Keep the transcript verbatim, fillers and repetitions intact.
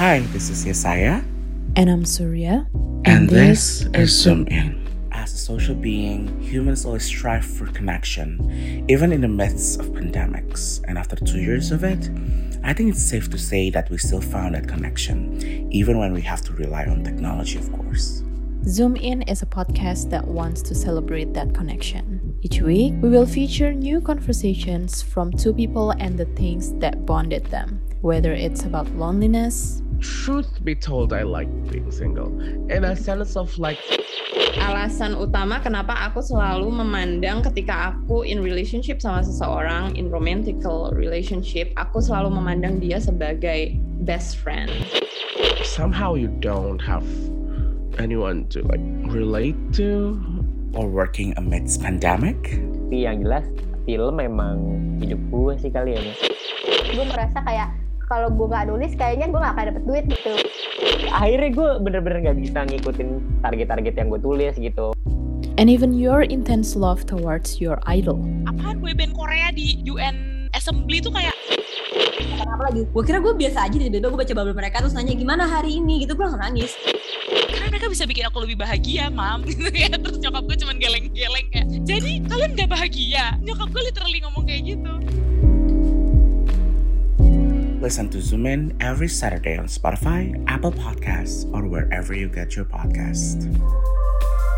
Hi, this is Yesaya. And I'm Surya. And, and this, this is Zoom In. As a social being, humans always strive for connection, even in the midst of pandemics. And after two years of it, I think it's safe to say that we still found that connection, even when we have to rely on technology, of course. Zoom In is a podcast that wants to celebrate that connection. Each week, we will feature new conversations from two people and the things that bonded them, whether it's about loneliness. Truth be told, I like being single. In a sense of like... Alasan utama kenapa aku selalu memandang ketika aku in relationship sama seseorang, in romantical relationship, aku selalu memandang dia sebagai best friend. Somehow you don't have anyone to like relate to, or working amidst pandemic. Tapi yang jelas film memang hidup gue sih kali ya. Gue merasa kayak kalau gue nggak nulis kayaknya gue nggak akan dapet duit gitu. Akhirnya gue bener-bener nggak bisa ngikutin target-target yang gue tulis gitu. And even your intense love towards your idol. Apaan boyband Korea di U N Assembly tuh kayak apa lagi? Gue kira gue biasa aja, tiba-tiba gue baca bubble mereka terus nanya gimana hari ini gitu, gue langsung nangis. Karena mereka bisa bikin aku lebih bahagia, mam, gitu ya. Terus nyokap gue cuman geleng-geleng kayak, jadi kalian gak bahagia? Nyokap gue literally ngomong kayak gitu. Listen to Zoom In every Saturday on Spotify, Apple Podcasts, or wherever you get your podcast.